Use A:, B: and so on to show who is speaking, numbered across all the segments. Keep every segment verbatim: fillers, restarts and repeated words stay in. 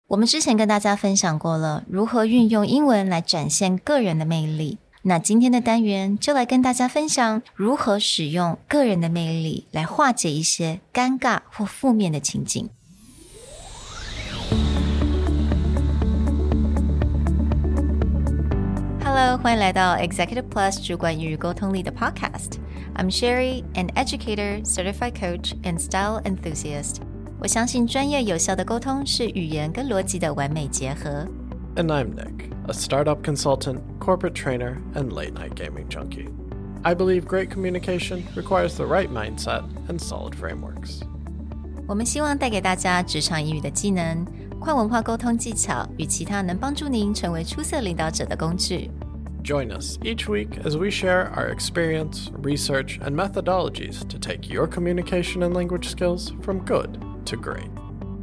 A: 我們之前跟大家分享過了如何運用英文來展現個人的魅力，那今天的單元就來跟大家分享如何使用個人的魅力來化解一些尷尬或負面的情境。Hello， 歡迎來到 Executive Plus 主管與溝通力的 Podcast。I'm Sherry, an educator, certified coach, and style enthusiast. 我相信專業有效的溝通是語言跟邏輯的完美結合。
B: And I'm Nick, a startup consultant, corporate trainer, and late-night gaming junkie. I believe great communication requires the right mindset and solid frameworks.
A: 我們希望帶給大家職場英語的技能、跨文化溝通技巧與其他能幫助您成為出色領導者的工具。
B: Join us each week as we share our experience, research, and methodologies to take your communication and language skills from good to great.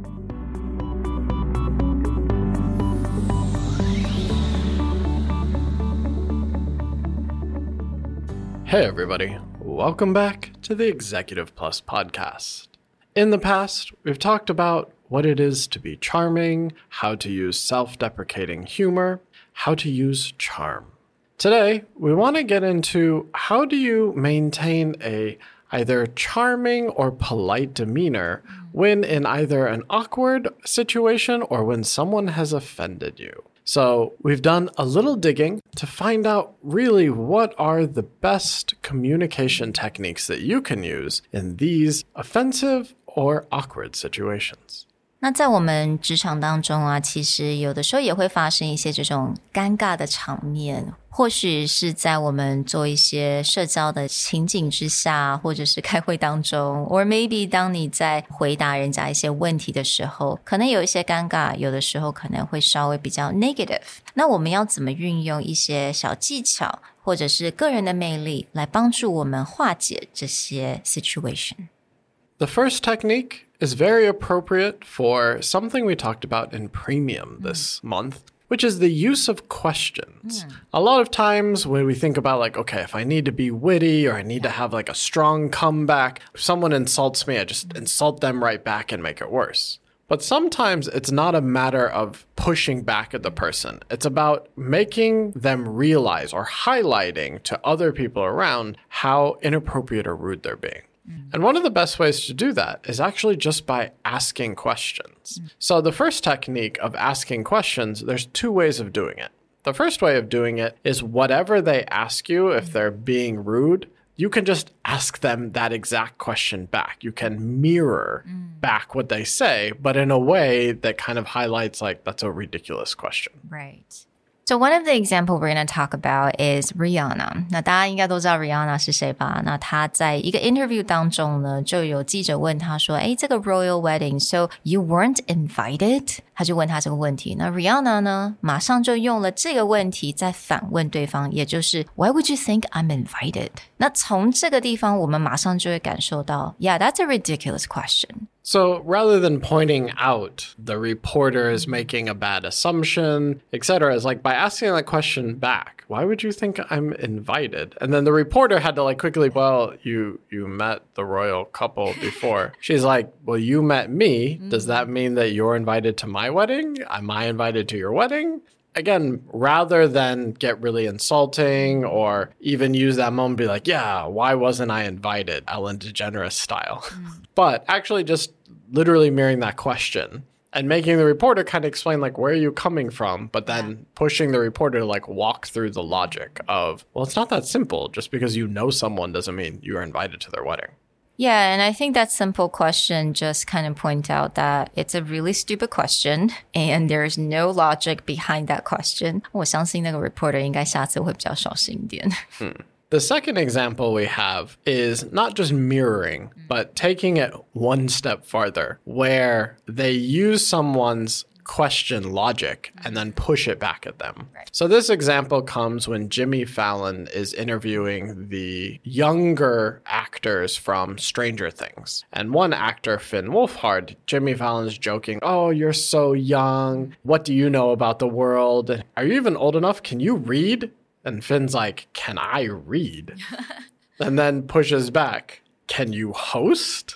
B: Hey everybody, welcome back to the Executive Plus podcast. In the past, we've talked about what it is to be charming, how to use self-deprecating humor, how to use charm. Today, we want to get into how do you maintain a either charming or polite demeanor when in either an awkward situation or when someone has offended you. So we've done a little digging to find out really what are the best communication techniques that you can use in these offensive or awkward situations.
A: 那在我們職場當中啊，其實有的時候也會發生一些這種尷尬的場面，或許是在我們做一些社交的情景之下，或者是開會當中 or maybe 當你在回答人家一些問題的時候，可能有一些尷尬，有的時候可能會稍微比較 negative。那我們要怎麼運用一些小技巧，或者是個人的魅力來幫助我們化解這些 situation？The
B: first technique is very appropriate for something we talked about in Premium this mm. month, which is the use of questions. Mm. A lot of times when we think about like, okay, if I need to be witty or I need yeah. to have like a strong comeback, if someone insults me, I just mm. insult them right back and make it worse. But sometimes it's not a matter of pushing back at the person. It's about making them realize or highlighting to other people around how inappropriate or rude they're being. And one of the best ways to do that is actually just by asking questions. Mm. So the first technique of asking questions, there's two ways of doing it. The first way of doing it is whatever they ask you, if they're being rude, you can just ask them that exact question back. You can mirror mm. back what they say, but in a way that kind of highlights like, that's a ridiculous question.
A: Right. So one of the examples we're going to talk about is Rihanna. 那大家應該都知道 Rihanna 是誰吧？那她在一個 interview 當中呢，就有記者問她說，誒，這個 royal wedding, so you weren't invited? 他就問她這個問題。那 Rihanna 呢，馬上就用了這個問題再反問對方，也就是 Why would you think I'm invited? 那從這個地方，我們馬上就會感受到 Yeah, that's a ridiculous question.
B: So rather than pointing out the reporter is making a bad assumption, et cetera, it's like by asking that question back, why would you think I'm invited? And then the reporter had to like quickly, well, you you met the royal couple before. She's like, well, you met me. Does that mean that you're invited to my wedding? Am I invited to your wedding? Again, rather than get really insulting or even use that moment and be like, yeah, why wasn't I invited? Ellen DeGeneres style. Mm. But actually just literally mirroring that question and making the reporter kind of explain like, where are you coming from? But then yeah. pushing the reporter to like walk through the logic of, well, it's not that simple. Just because you know someone doesn't mean you are invited to their wedding.
A: Yeah, and I think that simple question just kind of point out that it's a really stupid question and there's no logic behind that question. 我相信那個 reporter 應該下次會比較小心一點。
B: Hmm. The second example we have is not just mirroring, but taking it one step farther, where they use someone's question logic and then push it back at them.
A: Right.
B: So this example comes when Jimmy Fallon is interviewing the younger actors from Stranger Things. And one actor, Finn Wolfhard, Jimmy Fallon's joking, oh, you're so young. What do you know about the world? Are you even old enough? Can you read? And Finn's like, can I read? And then pushes back, can you host?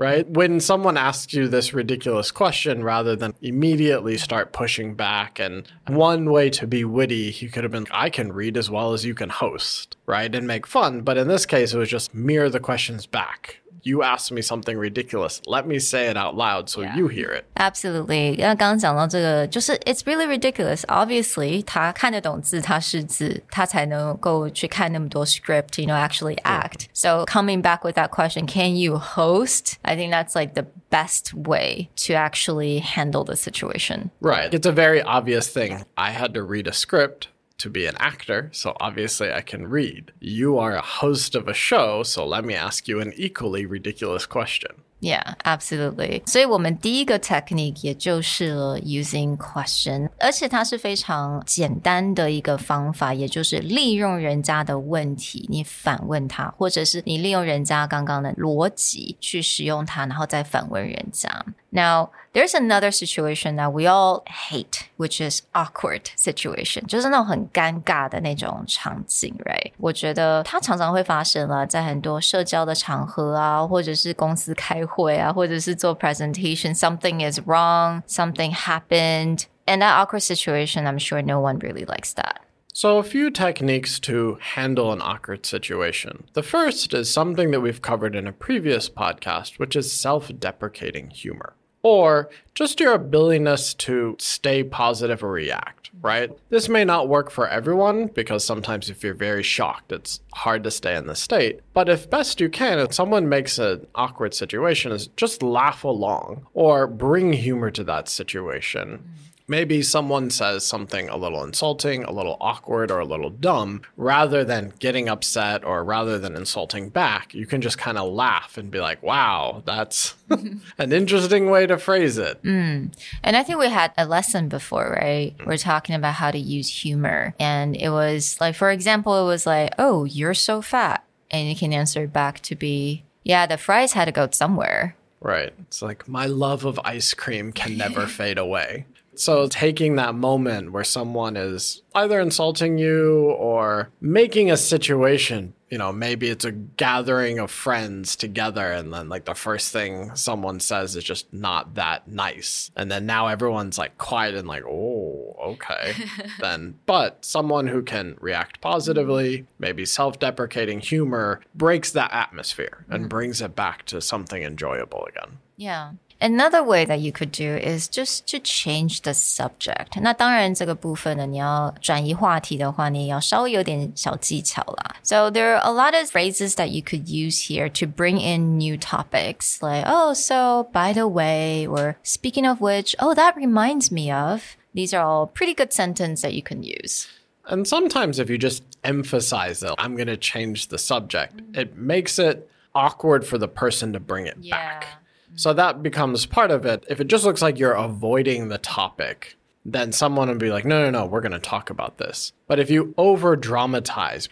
B: right? When someone asks you this ridiculous question, rather than immediately start pushing back, and one way to be witty, you could have been, I can read as well as you can host, right? And make fun. But in this case, it was just mirror the questions back. You asked me something ridiculous. Let me say it out loud so yeah. you hear it.
A: Absolutely. 那剛剛講到這個，就是 it's really ridiculous. Obviously, 他看得懂字，他識字，他才能夠去看那麼多 script, you know, actually act. Yeah. So coming back with that question, can you host? I think that's like the best way to actually handle the situation.
B: Right. It's a very obvious thing. I had to read a script to be an actor, so obviously I can read. You are a host of a show, so let me ask you an equally ridiculous question.
A: Yeah, absolutely. 所以我們第一個 technique 也就是了 using question， 而且它是非常簡單的一個方法，也就是利用人家的問題，你反問他，或者是你利用人家剛剛的邏輯去使用它，然後再反問人家。Now, there's another situation that we all hate, which is awkward situation. 就是那種很尷尬的那種場景 right? 我覺得它常常會發生了，在很多社交的場合啊，或者是公司開會啊，或者是做 presentation, something is wrong, something happened. And that awkward situation, I'm sure no one really likes that.
B: So a few techniques to handle an awkward situation. The first is something that we've covered in a previous podcast, which is self-deprecating humor. Or just your ability to stay positive or react, right? This may not work for everyone because sometimes if you're very shocked, it's hard to stay in the state. But if best you can, if someone makes an awkward situation, is just laugh along or bring humor to that situation. Maybe someone says something a little insulting, a little awkward, or a little dumb. Rather than getting upset or rather than insulting back, you can just kind of laugh and be like, wow, that's an interesting way to phrase it.
A: Mm. And I think we had a lesson before, right? We're talking about how to use humor. And it was like, for example, it was like, oh, you're so fat. And you can answer back to be, yeah, the fries had to go somewhere.
B: Right. It's like, my love of ice cream can never fade away. So taking that moment where someone is either insulting you or making a situation, you know, maybe it's a gathering of friends together and then like the first thing someone says is just not that nice. And then now everyone's like quiet and like, oh, okay. Then, but someone who can react positively, maybe self-deprecating humor, breaks that atmosphere and brings it back to something enjoyable again.
A: Yeah. Another way that you could do is just to change the subject. 那当然这個部分呢，你要轉移話題的話，你要稍微有點小技巧啦。So there are a lot of phrases that you could use here to bring in new topics. Like, oh, so by the way, or speaking of which, oh, that reminds me of. These are all pretty good sentences that you can use.
B: And sometimes if you just emphasize it, I'm going to change the subject, it makes it awkward for the person to bring it
A: yeah.
B: back. So that becomes part of it. If it just looks like you're avoiding the topic, then someone will be like, no, no, no, we're going to talk about this. But if you over dramatize,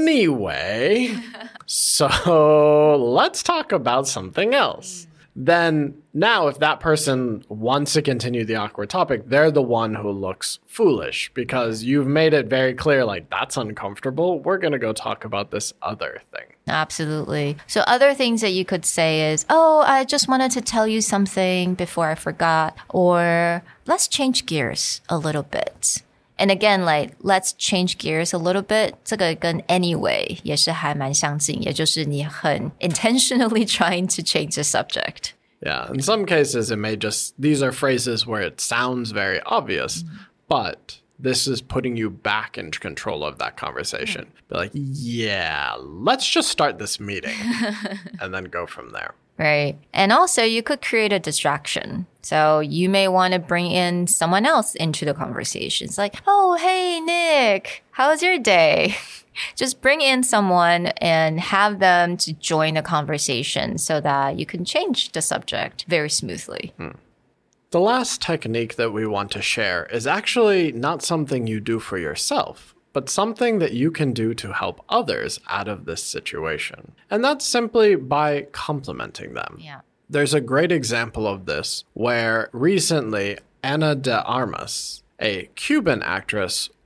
B: anyway, so let's talk about something else. Then now if that person wants to continue the awkward topic, they're the one who looks foolish because you've made it very clear, like, that's uncomfortable. We're going to go talk about this other thing.
A: Absolutely. So other things that you could say is, oh, I just wanted to tell you something before I forgot. Or let's change gears a little bit. And again, like, let's change gears a little bit. 這個跟 anyway 也是還蠻相近，也就是你很 intentionally trying to change the subject.
B: Yeah, in some cases, it may just, these are phrases where it sounds very obvious, mm-hmm. but this is putting you back in control of that conversation. Mm-hmm. Be like, yeah, let's just start this meeting and then go from there.
A: Right. And also you could create a distraction. So you may want to bring in someone else into the conversation. It's like, oh, hey, Nick, how's your day? Just bring in someone and have them to join the conversation so that you can change the subject very smoothly.
B: Hmm. The last technique that we want to share is actually not something you do for yourself, but something that you can do to help others out of this situation. And that's simply by complimenting them.
A: Yeah.
B: There's a great example of this where recently Ana de Armas, a Cuban actress,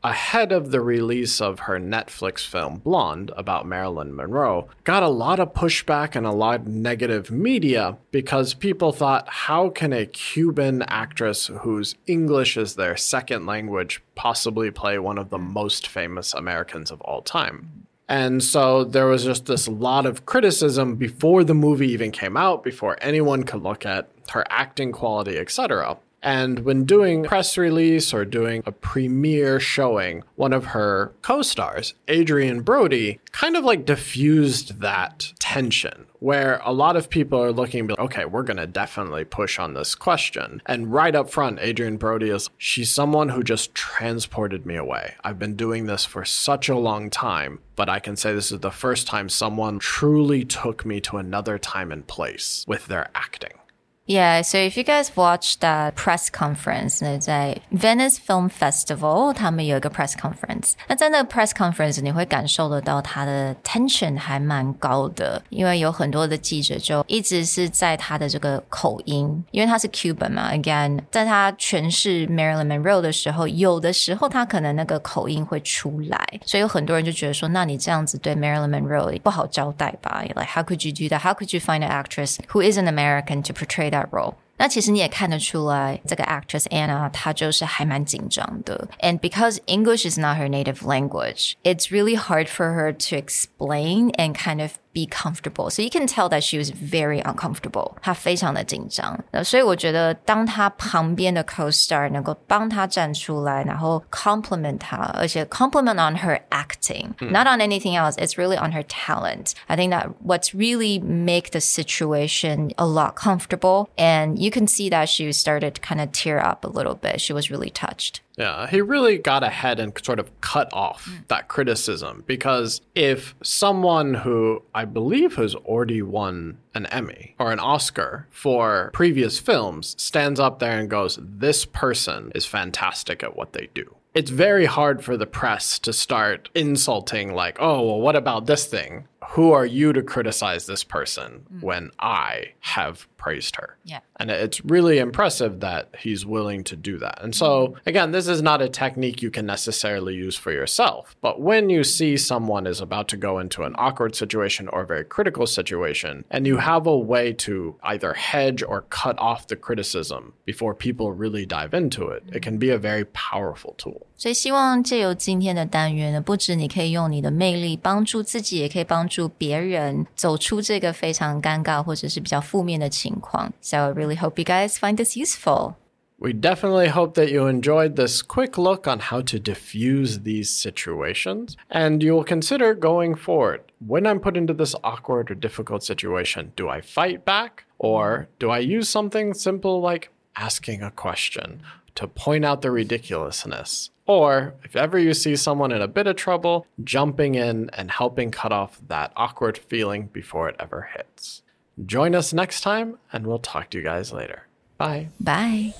B: ahead of the release of her Netflix film Blonde about Marilyn Monroe, got a lot of pushback and a lot of negative media because people thought, how can a Cuban actress whose English is their second language possibly play one of the most famous Americans of all time? And so there was just this lot of criticism before the movie even came out, before anyone could look at her acting quality, et cetera. And when doing press release or doing a premiere showing, one of her co-stars, Adrien Brody, kind of like diffused that tension where a lot of people are looking and be like, okay, we're going to definitely push on this question. And right up front, Adrien Brody is, she's someone who just transported me away. I've been doing this for such a long time, but I can say this is the first time someone truly took me to another time and place with their acting.
A: Yeah, so if you guys watched that press conference, 那在 Venice Film Festival 他们有一個 press conference， 那在那個 press conference 你會感受得到他的 tension 還蠻高的，因為有很多的記者就一直是在他的這個口音，因為他是 Cuban 嘛 again 在他詮釋 Marilyn Monroe 的時候，有的時候他可能那個口音會出來，所以有很多人就覺得說，那你這樣子對 Marilyn Monroe 不好交代吧， like how could you do that? How could you find an actress who is an American to portray that role? 那其實你也看得出來，這個 actress Anna 她就是還蠻緊張的。And because English is not her native language, it's really hard for her to explain and kind of be comfortable. So you can tell that she was very uncomfortable. 她非常的緊張。所以我覺得當她旁邊的 co-star 能夠幫她站出來，然後 compliment 她，而且 compliment on her acting, mm. not on anything else. It's really on her talent. I think that what's really make the situation a lot comfortable, and you can see that she started to kind of tear up a little bit. She was really touched.
B: Yeah, he really got ahead and sort of cut off mm. that criticism, because if someone who I believe has already won an Emmy or an Oscar for previous films stands up there and goes, this person is fantastic at what they do, it's very hard for the press to start insulting like, oh, well, what about this thing? Who are you to criticize this person mm. when I have praised her?
A: Yeah.
B: And it's really impressive that he's willing to do that. And so, again, this is not a technique you can necessarily use for yourself. But when you see someone is about to go into an awkward situation or a very critical situation, and you have a way to either hedge or cut off the criticism before people really dive into it, it can be a very powerful tool.
A: 所以希望借由今天的單元呢，不止你可以用你的魅力幫助自己，也可以幫助別人走出這個非常尷尬或者是比較負面的情況。So I really hope you guys find this useful.
B: We definitely hope that you enjoyed this quick look on how to diffuse these situations, and you will consider going forward. When I'm put into this awkward or difficult situation, do I fight back, or do I use something simple like asking a question to point out the ridiculousness? Or, if ever you see someone in a bit of trouble, jumping in and helping cut off that awkward feeling before it ever hits. Join us next time, and we'll talk to you guys later. Bye.
A: Bye.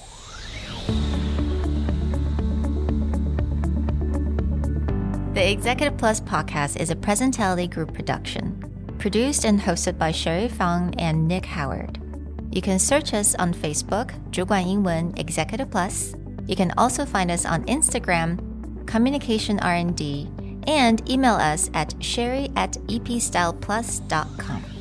A: The Executive Plus podcast is a Presentality Group production, produced and hosted by Sherry Fang and Nick Howard. You can search us on Facebook, 主管英文 Executive Plus. You can also find us on Instagram, Communication R and D, and email us at sherry at epstyleplus dot com.